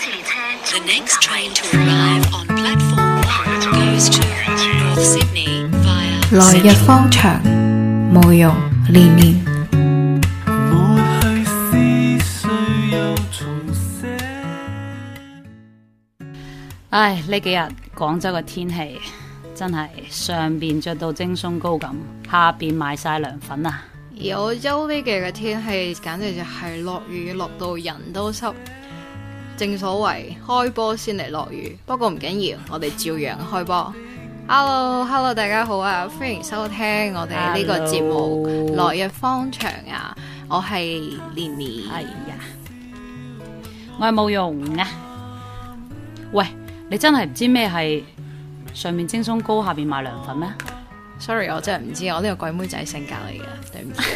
The next train to arrive on platform 1 goes to North Sydney via 來日方長，慕容連連。 唉，呢幾日廣州嘅天氣真係上邊着到蒸鬆糕咁，下邊買晒涼粉啊！ 而澳洲呢幾日嘅天氣簡直就係落雨落到人都濕，正所謂開波先嚟落雨。不過唔緊要，我哋照樣開波。Hello， 大家好啊！歡迎收聽我哋呢個節目《來日方長》啊！我係連連， 係呀，我係慕容啊！喂，你真係唔知咩係上面蒸鬆糕，下邊買涼粉咩？ Sorry， 我真係唔知，我呢個鬼妹仔性格嚟嘅，對唔住。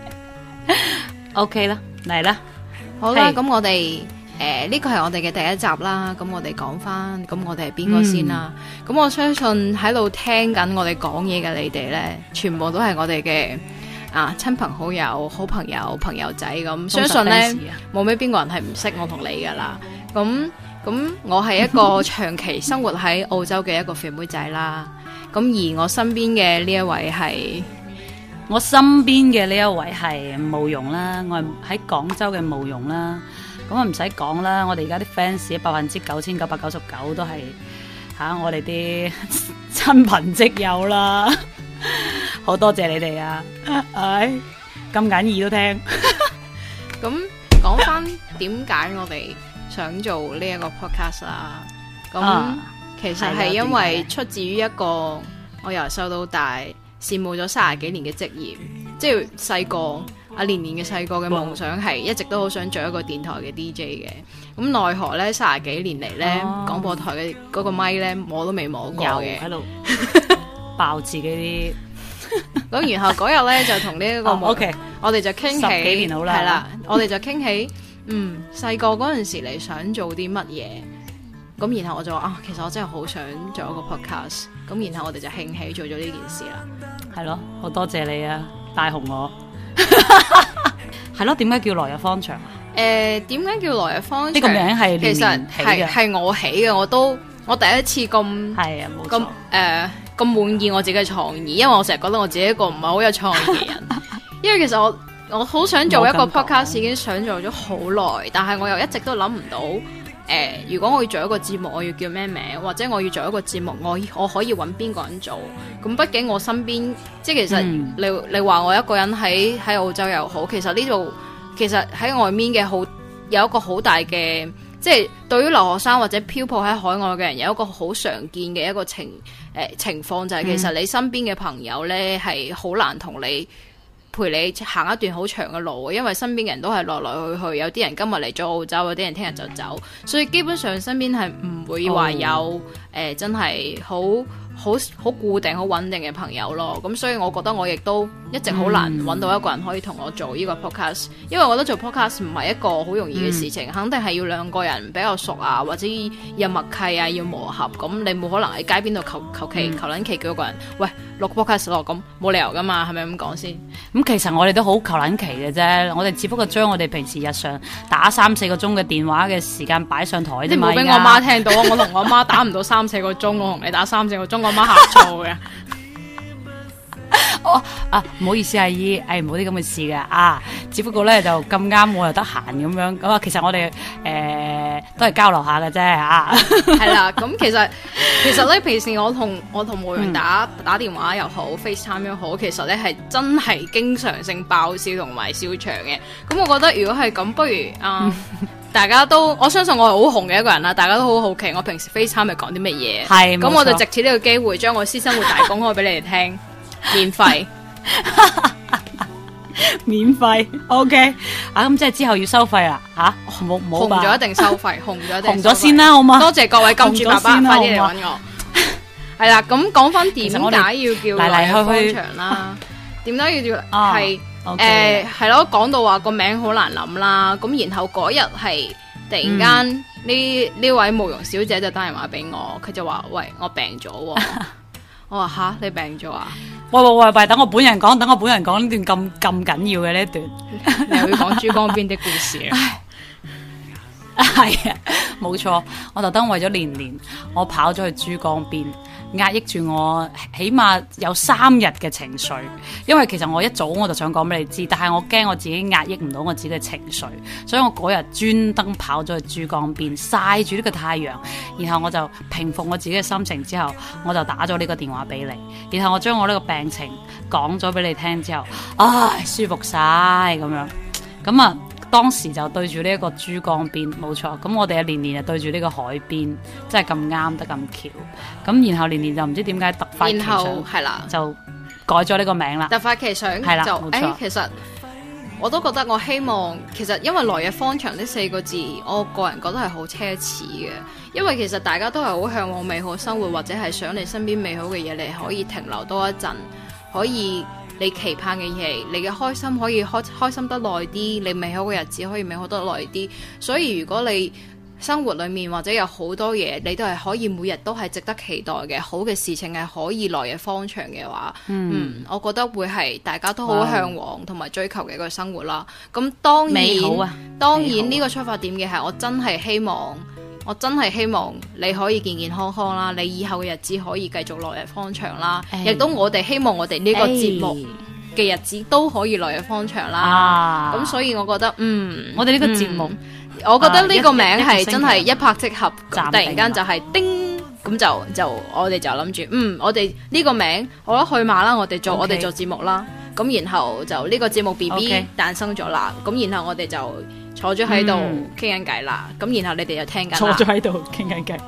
OK 啦，嚟啦， 好啦，咁我哋呢個係我哋嘅第一集啦，咁我哋講翻，咁我哋係邊個先啦？咁我相信喺度聽緊我哋講嘢嘅你哋呢，全部都係我哋嘅親朋好友、好朋友、朋友仔咁，相信呢，冇咩邊個人係唔識我同你噶啦。咁我係一個長期生活喺澳洲嘅一個肥妹仔啦。咁而我身邊嘅呢一位係， 我身邊嘅呢一位係慕容啦，我係喺廣州嘅慕容啦。咁啊唔使講啦，我哋而家啲 fans 99,999都係我哋啲親朋戚友啦，好多謝你哋啊！唉，咁緊耳都聽。 咁講翻點解我哋想做呢一個 podcast 啦？咁其實係因為出自於一個我由細到大羨慕咗30幾年嘅職業，即係細個連連嘅細個嘅夢想係一直都好想做一個電台嘅 DJ 嘅。咁奈何呢30幾年嚟呢，廣播台嘅嗰個咪呢，摸都未摸過嘅，喺度爆自己啲。 咁然後嗰日呢，就同呢一個 OK， 我哋就傾起 10幾年好啦， 係啦，我哋就傾起細個嗰陣時你想做啲乜嘢？咁然後我就話其實我真係好想做一個 podcast。咁然後我哋就興起做咗呢件事啦。係咯， 好多謝你啊，帶紅我。係咯，點解叫來日方長啊？ 點解叫來日方長？ 呢個名係其實係我起嘅，我第一次咁係啊，冇錯， 咁滿意我自己嘅創意，因為我成日覺得我自己一個唔係好有創意嘅人。因為其實我好想做一個 podcast，已經想做咗好耐，但係我又一直都諗唔到。如果我要做一個節目，我要叫咩名？或者我要做一個節目，我可以揾邊個人做？咁畢竟我身邊，即係其實你話我一個人喺澳洲又好，其實呢度其實喺外面嘅有一個好大嘅，即係對於留學生或者漂泊喺海外嘅人有一個好常見嘅一個情況，就係其實你身邊嘅朋友呢係好難同你陪你行一段好長嘅路，因為身邊嘅人都係來來去去，有啲人今日嚟咗澳洲，有啲人聽日就走，所以基本上身邊係唔會話有真係好固定、好穩定嘅朋友咯。咁所以我覺得我亦都一直好難揾到一個人可以同我做呢個 podcast，因為我覺得做 podcast 唔係一個好容易嘅事情，肯定係要兩個人比較熟啊，或者有默契啊，要磨合。咁你冇可能喺街邊度求撚其叫一個人喂錄 podcast 咯，咁冇理由噶嘛，係咪咁講先？ 咁其實我哋都好求撚其嘅啫，我哋只不過將我哋平時日常打3-4個鐘嘅電話嘅時間擺上台啫嘛。 你冇俾我媽聽到啊！我同我媽打唔到3-4個鐘，我同你打3-4個鐘，我媽呷醋嘅。 唔好意思阿姨，冇啲咁嘅事嘅只不過咧就咁啱我又得閒咁樣，咁其實我哋都係交流下嘅啫係啦， 咁其實咧平時我同慕容打電話又好，FaceTime 又好，其實咧係真係經常性爆笑同埋笑場嘅。咁我覺得如果係咁，不如大家都，我相信我係好紅嘅一個人啦，大家都好好奇我平時 FaceTime 係講啲乜嘢。係，咁我就藉此呢個機會將我私生活大公開俾你哋聽。免費免費 OK 咁即係之後要收費啦冇紅咗一定收費，紅咗先啦，好嘛？ 多謝各位金主爸爸，快啲嚟搵我。係啦，咁講翻點解要叫來日方長啦？點解要叫係咯？講到話個名好難諗啦，咁然後嗰日係突然間呢位慕容小姐就打電話俾我，佢就話喂，我病咗喎。我話你病咗啊？ 喂，等我本人講呢段咁緊要嘅呢一段， 你又要講珠江邊的故事啊？ 係啊， 冇錯，我特登為咗年年，我跑咗去珠江邊，壓抑住我起碼有3日嘅情緒。因為其實我一早我就想講俾你知，但係我驚我自己壓抑唔到我自己嘅情緒，所以我嗰日專登跑咗去珠江邊曬住呢個太陽，然後我就平復我自己嘅心情之後，我就打咗呢個電話俾你，然後我將我呢個病情講咗俾你聽之後，唉，舒服晒咁樣，咁啊。當時就對住呢一個珠江邊，冇錯。咁我哋啊年年就對住呢個海邊，真係咁啱得咁巧。咁然後年年就唔知點解突發奇想，係啦，就改咗呢個名啦。 突發奇想係啦，冇錯。其實我都覺得我希望，其實因為來日方長呢4個字，我個人覺得係好奢侈嘅。因為其實大家都係好嚮往美好生活，或者係想你身邊美好嘅嘢，你可以停留多一陣，可以。你期盼嘅嘢，你嘅開心可以開心得耐啲，你美好嘅日子可以美好得耐啲。所以如果你生活裡面或者有好多嘢，你都係可以每日都係值得期待嘅好嘅事情，係可以來日方長嘅話，我覺得會係大家都好嚮往同埋追求嘅一個生活啦。咁當然，當然呢個出發點嘅係我真係希望你可以健健康康啦，你以後嘅日子可以繼續來日方長啦，亦都我哋希望我哋呢個節目嘅日子都可以來日方長啦。咁所以我覺得， 我哋呢個節目， 我覺得呢個名係真係一拍即合，突然間就係叮，咁就我哋就諗住，我哋呢個名，我覺得去馬啦，我哋做節目啦，咁然後就呢個節目 BB 誕生咗啦，咁然後我哋就坐咗喺度傾緊偈啦，咁然後你哋就聽緊啦。坐咗喺度傾緊偈。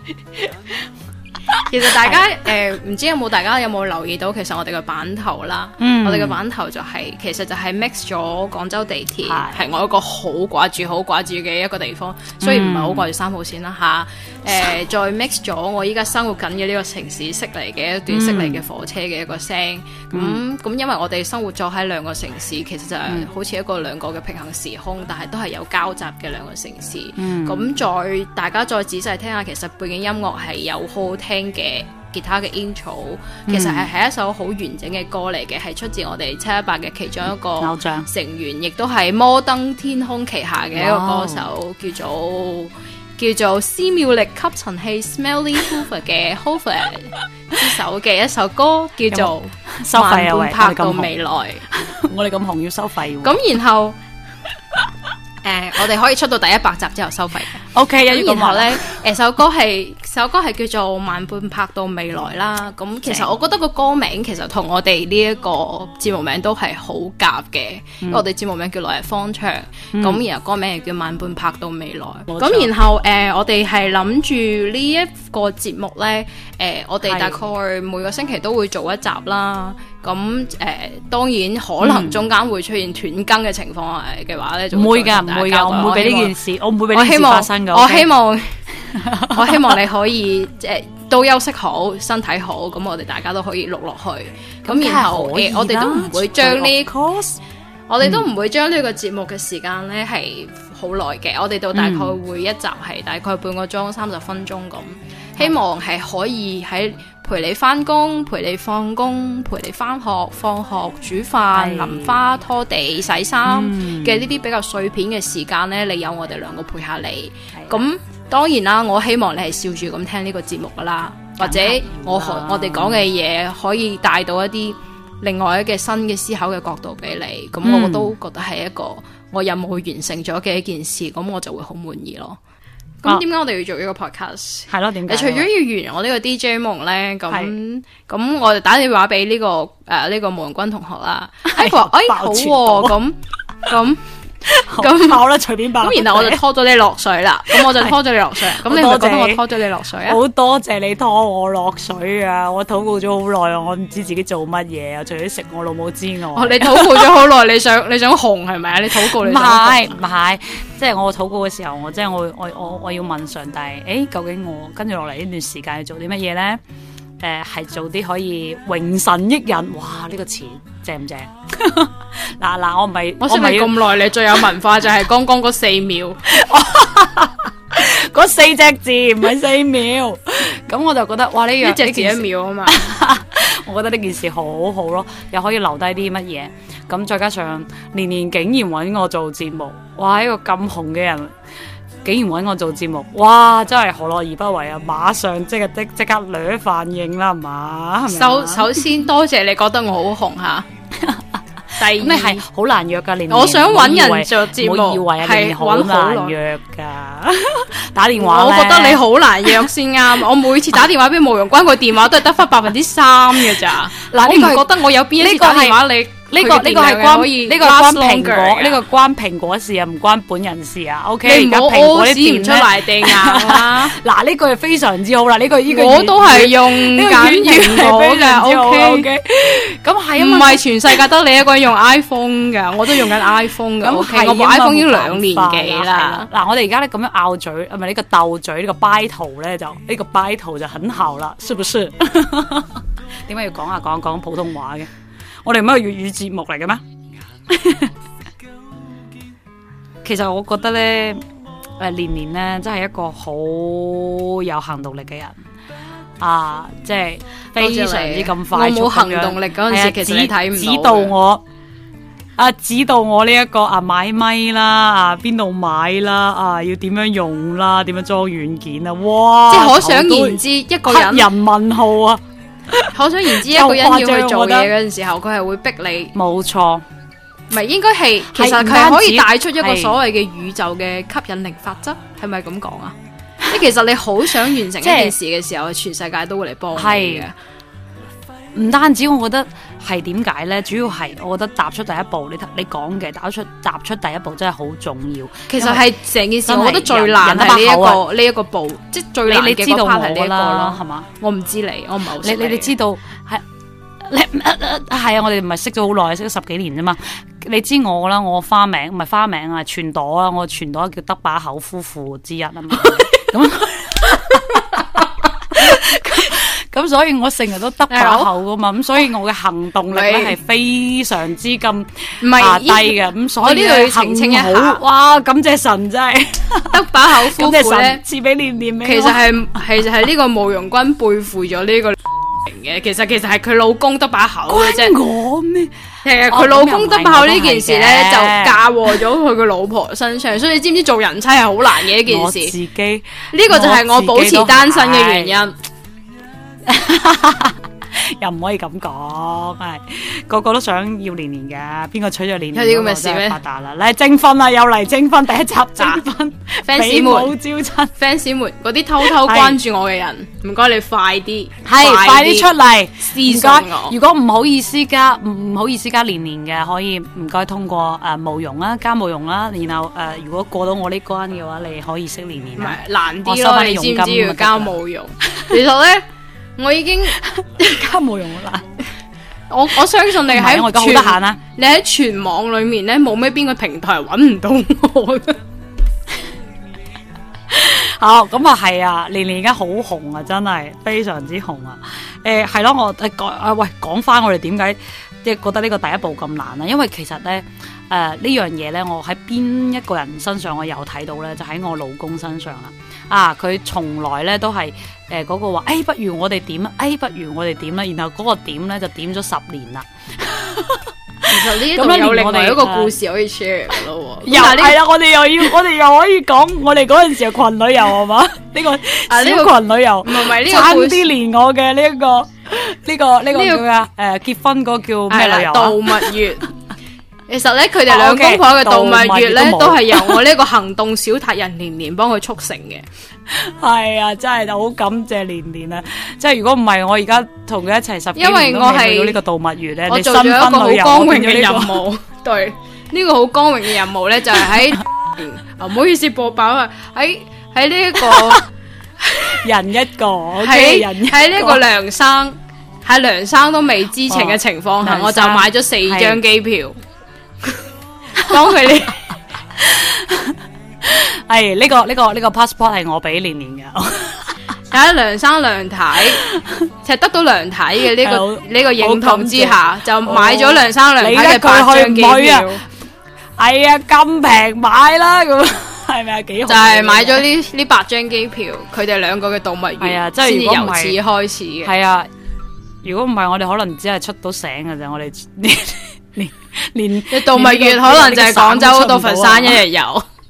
其實大家唔知大家有冇留意到，其實我哋嘅版頭啦，我哋嘅版頭就係其實就係 mix 咗廣州地鐵，係我一個好掛住嘅一個地方，雖然唔係好掛住3號線啦吓，再 mix 咗我依家生活緊嘅呢個城市悉尼嘅一段悉尼嘅火車嘅一個聲，咁因為我哋生活咗喺2個城市，其實就係好似2個嘅平行時空，但係都係有交集嘅2個城市。咁大家再仔細聽下，其實背景音樂係有好好聽嘅吉他嘅 intro， 其實係一首好完整嘅歌嚟嘅，係出自我哋718嘅其中一個偶像成員，亦都係摩登天空旗下嘅一個歌手，叫做斯妙力吸塵器 Smelly Hoover 嘅 Hoover 之首嘅一首歌，叫做收費啊， 慢半拍到未來。 我哋咁紅要收費喎。 咁然後我哋可以出到第100集之後收費嘅。 OK， 然後咧，首歌係叫做《慢半拍到未來》啦。咁其實我覺得個歌名其實同我哋呢一個節目名都係好夾嘅。因為我哋節目名叫《來日方長》，咁然後歌名係叫《慢半拍到未來》。咁然後我哋係諗住呢一個節目咧，我哋大概每個星期都會做一集啦。咁當然可能中間會出現斷更嘅情況嘅話咧， 唔會㗎，我唔會俾呢件事，我唔會俾呢件事發生㗎。 我希望你可以都休息好，身體好，咁我哋大家都可以錄落去。咁然後我哋都唔會將呢個節目嘅時間咧係好耐嘅。我哋到大概會一集係大概半個鐘30分鐘咁。希望係可以喺陪你翻工、陪你放工、陪你翻學、放學、煮飯、淋花、拖地、洗衫嘅呢啲比較碎片嘅時間呢，你有我哋2個陪下你。咁當然啦，我希望你係笑住咁聽呢個節目噶啦，或者我哋講嘅嘢可以帶到一啲另外一個新嘅思考嘅角度俾你。咁我都覺得係一個我任務完成咗嘅一件事，咁我就會好滿意咯。咁點解我哋要做呢個 podcast？ 係咯，點解？除咗要圓我呢個 DJ 夢咧，咁我就打電話俾呢個毛容君同學啦。佢話好喎，咁好啦，隨便爆。 咁然後我就拖咗你落水啦。咁我就拖咗你落水。咁你係咪覺得我拖咗你落水啊？ 好多謝你拖我落水啊！我禱告咗好耐啊，我唔知自己做乜嘢啊，除咗食我老母之外。 你禱告咗好耐，你想紅係咪啊？你禱告你唔係，即係我禱告嘅時候，我要問上帝，究竟我跟住落嚟呢段時間要做啲乜嘢咧？係做啲可以榮神益人，哇！呢個詞正唔正？嗱，我唔係， 我識你咁耐，你最有文化就係剛剛嗰4秒， 嗰4隻字唔係4秒。咁我就覺得，哇！呢隻字1秒啊嘛。我覺得呢件事好好咯，又可以留低啲乜嘢。咁再加上年年竟然揾我做節目，哇！一個咁紅嘅人， 竟然揾我做節目，哇！真係何樂而不為啊！馬上即刻掠反應啦，係嘛？ 首先多謝你覺得我好紅嚇。第二， 你係好難約㗎， 我想揾人做節目係好難約㗎。打電話， 我覺得你好難約先啱。我每次打電話俾慕容君，個電話都係得翻3%嘅咋。嗱，我唔覺得我有邊一次打電話你。呢個係關蘋果事啊，唔關本人事啊。OK， 你唔好屙屎唔出嚟地硬啦。嗱，呢個係非常之好啦。呢個我都係用緊蘋果嘅。OK， 咁係唔係全世界得你一個人用 iPhone 噶？我都用緊 iPhone 噶。OK， 我部 iPhone 已經2年幾啦。嗱，我哋而家咧咁樣拗嘴，唔係呢個鬥嘴，呢個 battle 咧就呢個 battle就很好啦，是不是？點解要講普通話嘅？我哋唔係粵語節目嚟嘅咩？其實我覺得咧，年年咧真係一個好有行動力嘅人啊！即係非常之咁快速。我冇行動力嗰陣時，其實你睇唔到。指導我呢一個買咪啦，邊度買啦，要點樣用啦，點樣裝軟件啊！哇！即係可想而知，一個人人問號啊！可想而知，一個人要去做嘢嗰陣時候，佢係會逼你。冇錯，唔係應該係，其實佢可以帶出一個所謂嘅宇宙嘅吸引力法則，係咪咁講啊？即係其實你好想完成一件事嘅時候，全世界都會嚟幫你嘅。唔單止，我覺得係點解咧？主要係我覺得踏出第一步，你講嘅踏出第一步真係好重要。其實係成件事，我覺得最難係呢一個步，即係最難嘅嗰 part 係呢一個咯，係嘛？我唔知我唔係好識你。你知道係係啊？我哋唔係識咗好耐，識咗10幾年啫嘛。你知我啦，我花名唔係花名啊，全朵啊，我全朵叫得把口夫婦之一啊嘛。咁。咁所以我成日都得把口噶嘛，咁所以我嘅行動力咧係非常之咁低嘅，咁所以呢度要澄清一下。哇，感謝神真係得把口夫婦咧，賜俾年年命。其實係呢個慕容君背負咗呢個嘅，其實係佢老公得把口嘅啫。我咩？其實佢老公得把口呢件事咧，就嫁禍咗佢個老婆身上，所以你知唔知做人妻係好難嘅一件事？我自己呢個就係我保持單身嘅原因。又唔可以咁講，係個個都想要年年嘅，邊個娶咗年年有啲咁嘅事咩？發達啦，嚟徵婚啦，又嚟徵婚，第一集徵婚，fans 們招親，fans 們嗰啲偷偷關注我嘅人，唔該你快啲，快啲出嚟私信我。如果唔好意思加年年嘅，可以唔該通過慕容啦，加慕容啦，然後如果過到我呢關嘅話，你可以識年年。唔係難啲咯，你知唔知要加慕容？其實咧。我已經加慕容啦，我相信你喺我而家好得閒啦。你喺全網裏面咧，冇咩邊個平台揾唔到我嘅。好，咁啊係啊，年年而家好紅啊，真係非常之紅啊。係咯，我講翻我哋點解即係覺得呢個第一步咁難啊？因為其實咧呢樣嘢咧，我喺邊一個人身上我有睇到咧，就喺我老公身上啦。佢從來咧都係嗰個話，不如我哋點啊，不如我哋點啦，然後嗰個點咧就點咗10年啦。其實呢度有另外一個故事可以 share 嘅咯。又係啦，我哋又可以講我哋嗰陣時嘅群旅遊係嘛？呢個小群旅遊唔係呢個差啲連我嘅呢個叫咩結婚嗰個叫咩旅遊啊？度蜜月。其實咧，佢哋兩公婆嘅度蜜月咧，都係由我呢個行動小達人年年幫佢促成嘅。係啊，真係好感謝年年啊！即係如果唔係我而家同佢一齊10幾年，因為我係呢個度蜜月咧，我做咗一個好光榮嘅任務。對，呢個好光榮嘅任務咧，就係喺唔好意思播爆啊！喺呢一個人一個喺呢個梁生喺梁生都未知情嘅情況下，我就買咗4張機票。當佢呢？係呢個 passport 係我俾年年嘅。喺梁生梁太，其實得到梁太嘅呢個認同之下，就買咗梁生梁太嘅8張機票。係啊，咁平買啦，咁係咪啊？幾好？就係買咗呢8張機票，佢哋兩個嘅度蜜月，先至由此開始嘅。係啊，如果唔係，我哋可能只係出到醒嘅啫。我哋連度蜜月可能就係廣州到佛山一日遊。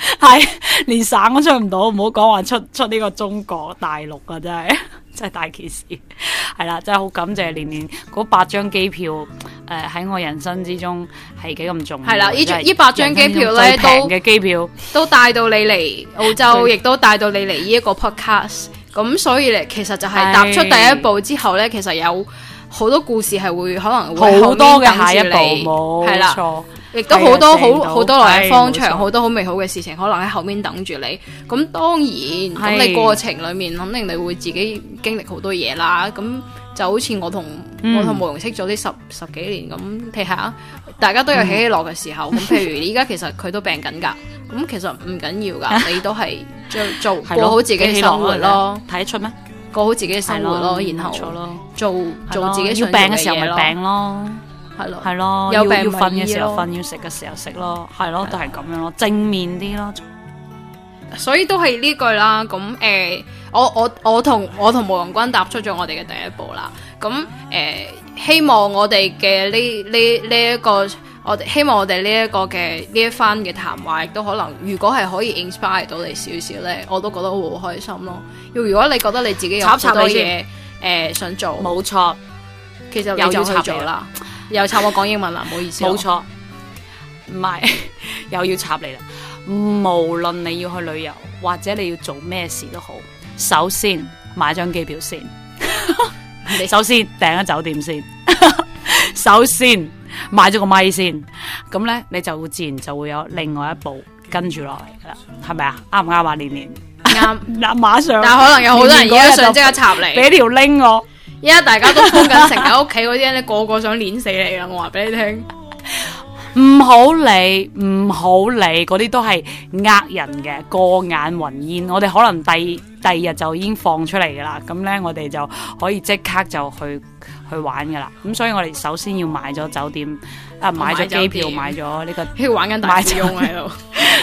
係連省都出唔到，唔好講話出呢個中國大陸啊！真係大件事。係啦，真係好感謝年年嗰8張機票，喺我人生之中係幾咁重要。係啦，呢 8張機票咧都平嘅機票都帶到你嚟澳洲，亦都帶到你嚟呢一個 podcast。咁所以咧，其實就係踏出第一步之後咧，其實有好多故事係會可能會好多嘅下一步，冇錯。 亦都好多好多來日方長，好多好美好嘅事情可能喺後面等住你。咁當然，咁你過程裏面肯定你會自己經歷好多嘢啦。咁就好似我同慕容識咗啲十幾年咁，睇下大家都有起起落嘅時候。咁譬如依家其實佢都病緊㗎，咁其實唔緊要㗎，你都係過好自己嘅生活咯。 睇得出咩？ 過好自己嘅生活咯，然後做自己想做嘅嘢咯。要病嘅時候咪病咯。係咯，要瞓嘅時候瞓，要食嘅時候食咯，係咯，都係咁樣咯，正面啲咯。所以都係呢句啦。咁我同慕容君踏出咗我哋嘅第一步啦。咁希望我哋嘅呢一個，希望我哋呢一個嘅呢一番嘅談話，亦都可能，如果係可以 inspire 到你少少咧，我都覺得好開心咯。如果你覺得你自己有好多嘢想做，冇錯，其實你就去做啦。又插我講英文啦，唔好意思。冇錯，唔係又要插你啦。無論你要去旅遊或者你要做咩事都好，首先買張機票先，首先訂咗酒店先，首先買咗個咪先，咁咧你就會自然就會有另外一步跟住落嚟噶啦，係咪啊？啱唔啱啊？年年啱嗱，馬上。但係可能有好多人而家想即刻插嚟，俾條 link 我。依家大家都封緊城喺屋企嗰啲咧，個個想碾死你啦！我話俾你聽，唔好理，嗰啲都係呃人嘅，過眼雲煙。我哋可能第二日就已經放出嚟噶啦，咁咧我哋就可以即刻就去玩噶啦。咁所以我哋首先要買咗酒店，買咗機票，買咗呢個，喺玩緊大富翁喺度，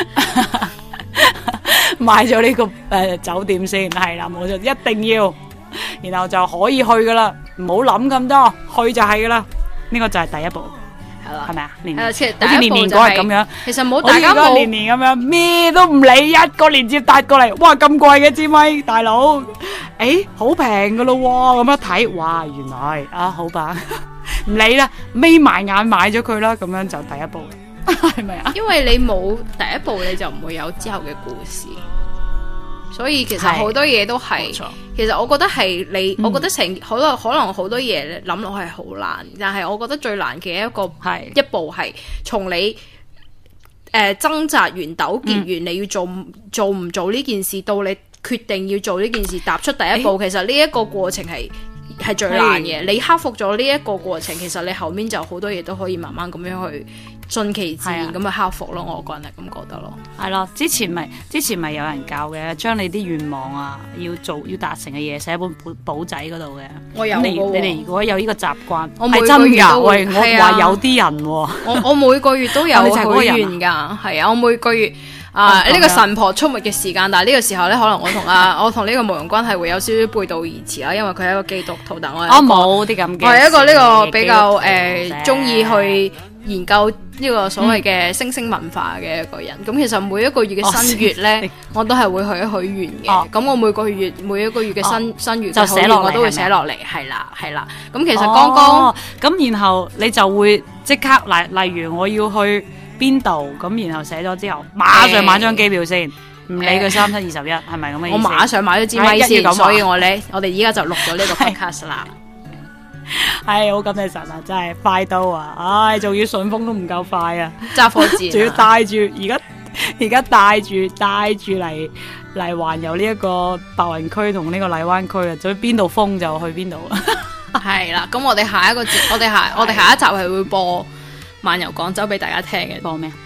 買咗呢個酒店先，係啦，冇錯，一定要。然後就可以去噶啦，唔好諗咁多，去就係噶啦。呢個就係第一步，係啦，係咪啊？好似年年嗰日咁樣，其實冇大家冇年年咁樣，咩都唔理，一個連接帶過嚟，哇咁貴嘅支咪，大佬，好平噶咯，咁一睇，哇，原來啊好吧，唔理啦，眯埋眼買咗佢啦，咁樣就第一步，係咪啊？因為你冇第一步，你就唔會有之後嘅故事。所以其實好多嘢都係，其實我覺得係你，我覺得可能好多嘢諗落係好難，但係我覺得最難嘅一步係從你掙扎完、糾結完，你要做唔做呢件事，到你決定要做呢件事，踏出第一步，其實呢一個過程係最難嘅。你克服咗呢一個過程，其實你後面就好多嘢都可以慢慢咁樣去順其自然咁去克服咯。我個人係咁覺得咯。係咯，之前咪有人教嘅，將你啲願望啊，要達成嘅嘢寫喺本簿仔嗰度嘅。我有你哋如果有呢個習慣，我每個月都會。我話有啲人，我每個月都有許願噶。係啊，我每個月呢個神婆出沒嘅時間，但係呢個時候咧，可能我同呢個慕容君係會有少少背道而馳啦，因為佢係一個基督徒，但我冇啲咁嘅。我係一個呢個比較中意去研究呢個所謂嘅星星文化嘅一個人。咁其實每一個月嘅新月咧，我都係會許一許願嘅。咁我每一個月嘅新月就寫落嚟，我都會寫落嚟。係啦。咁其實剛剛咁，然後你就會即刻例如我要去邊度，咁然後寫咗之後，馬上買張機票先，唔理佢3721，係咪咁嘅意思？我馬上買咗支咪先，所以我哋依家就錄咗呢個 podcast 啦。係好感謝神啊，真係快到啊！仲要順豐都唔夠快啊，揸火箭，仲要帶住而家帶住嚟環遊呢一個白雲區同呢個荔灣區啊，所以邊度封就去邊度。係啦，咁我哋下一集係會播漫遊廣州俾大家聽嘅。播咩？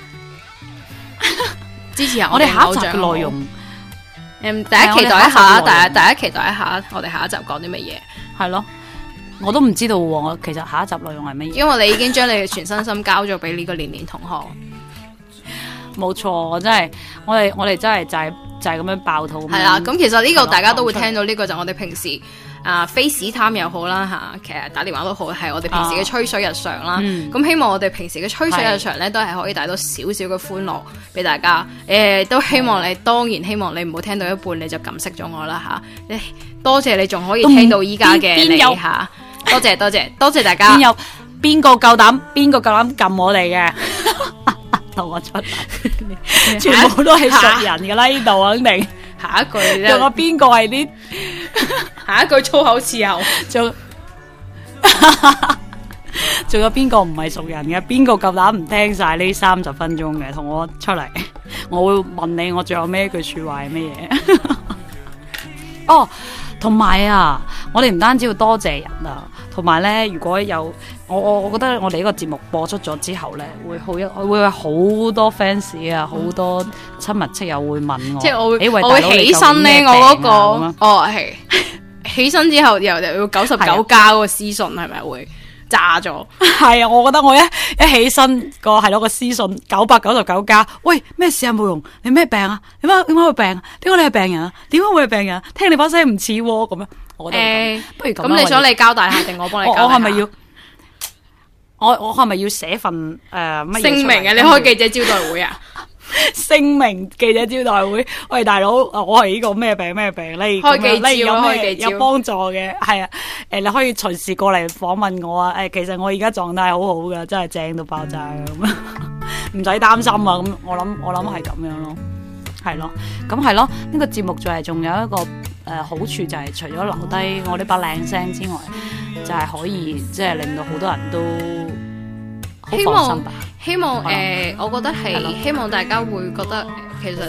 支持下我哋下一集嘅內容。大家期待一下，大家期待一下，我哋下一集講啲乜嘢？係咯，我都唔知道喎。我其實下一集內容係乜嘢？因為你已經將你嘅全身心交咗俾呢個年年同學。冇錯，我哋真係就係咁樣爆肚。係啦，咁其實呢個大家都會聽到，呢個就我哋平時 FaceTime 又好啦嚇，其實打電話都好，係我哋平時嘅吹水日常啦。咁希望我哋平時嘅吹水日常咧，都係可以帶到少少嘅歡樂俾大家。都希望你，當然希望你唔好聽到一半你就撳熄咗我啦嚇。多謝你仲可以聽到依家嘅你嚇，多謝大家。 邊個夠膽撳我哋嘅？同我出嚟，全部都係熟人噶啦，呢度肯定。 下一句仲有邊個係啲？ 下一句粗口伺候。 仲有邊個唔係熟人嘅？邊個夠膽唔聽晒呢30分鐘嘅？同我出嚟，我會問你，我最後咩句說話係咩嘢？哦，同埋啊，我哋唔單止要多謝人啊，同埋咧，如果有我覺得我哋呢個節目播出咗之後咧，會有好多 fans 啊，好多親密戚友會問我， 即係我會起身咧，我嗰個係起身之後又要99加嗰個私信係咪會炸咗？ 係啊，我覺得我一起身個私信999加，喂，咩事啊？慕容，你咩病啊？點解會病啊？點解你係病人啊？點解會係病人啊？聽你把聲唔似咁樣，我覺得不如咁你想你交代下定我幫你交代下？ 我係咪要？我係咪要寫份乜嘢聲明啊？你開記者招待會啊？ 聲明記者招待會，喂大佬，我係呢個咩病咧？ 開記招有幫助嘅，係啊，你可以隨時過嚟訪問我啊！其實我而家狀態好好噶，真係正到爆炸咁，唔使擔心啊！咁我諗係咁樣咯，係咯，咁係咯，呢個節目仲有一個好處就係除咗留低我呢把靚聲之外，就係可以即係令到好多人都好放心吧。 希望我覺得係希望大家會覺得其實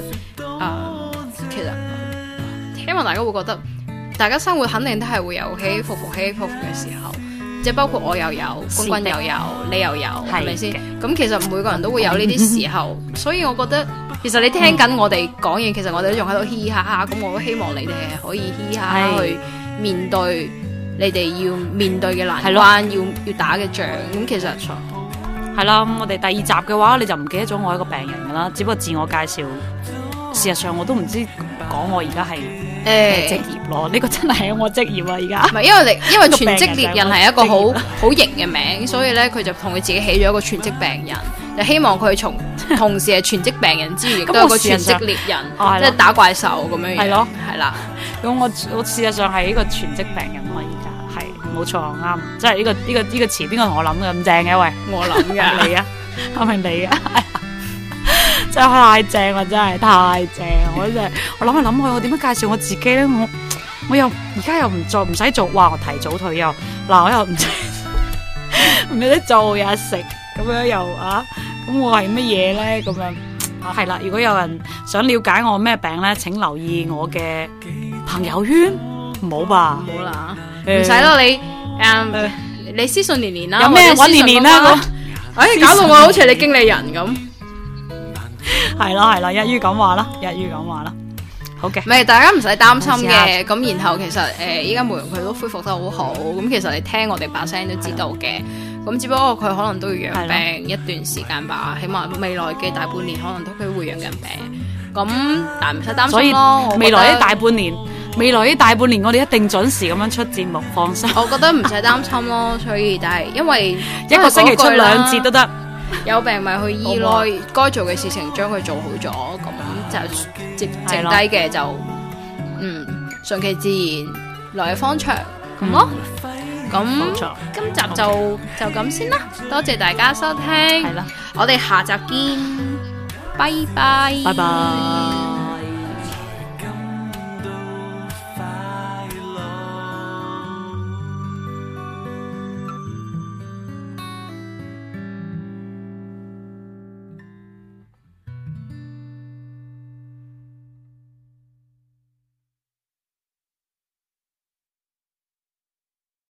希望大家會覺得大家生活肯定都係會有起起伏伏嘅時候，即係包括我又有，君君又有，你又有，係咪先？咁其實每個人都會有呢啲時候，所以我覺得其實你聽緊我哋講嘢，其實我哋都仲喺度嘻嘻哈哈，咁我都希望你哋係可以嘻嘻哈哈去面對你哋要面對嘅難關，要打嘅仗。咁其實係啦，我哋第2集嘅話，你就唔記得咗我係一個病人噶啦，只不過自我介紹。事實上我都唔知講我而家係職業咯，呢個真係我職業啊！而家唔係因為全職獵人係一個好型嘅名，所以咧佢就同佢自己起咗一個全職病人，就希望佢同時係全職病人之餘，亦都係個全職獵人，即係打怪獸咁樣樣。係咯，係啦。 咁我事實上係一個全職病人嘛，而家係冇錯啱，即係呢個詞邊個同我諗嘅咁正嘅？喂， 我諗嘅你啊，係咪你啊？真係太正啦！真係太正，我諗下諗去，我點樣介紹我自己咧？我又而家又唔使做，哇！我提早退休，嗱我又唔有得做又食，咁樣又咁我係乜嘢咧？咁樣係啦。如果有人想了解我咩病咧，請留意我嘅朋友圈。唔好吧？ 唔好啦，唔使咯你你私信年啦， 有咩搵年啦？ 搞到我好似你經理人咁。 係啦，一於咁話啦，好嘅。 唔係，大家唔使擔心嘅。咁然後其實依家慕容佢都恢復得好好。咁其實你聽我哋把聲都知道嘅。咁只不過佢可能都要養病一段時間吧。起碼未來嘅大半年可能都佢會養緊病。咁但係唔使擔心咯。所以未來呢大半年，我哋一定準時咁樣出節目，放心。 我覺得唔使擔心咯。所以但係因為一個星期出2節都得。 有病咪去醫咯，該做嘅事情將佢做好咗，咁就剩低嘅就順其自然，來日方長咁咯。咁今集就咁先啦，多謝大家收聽，係啦，我哋下集見，拜拜，拜拜。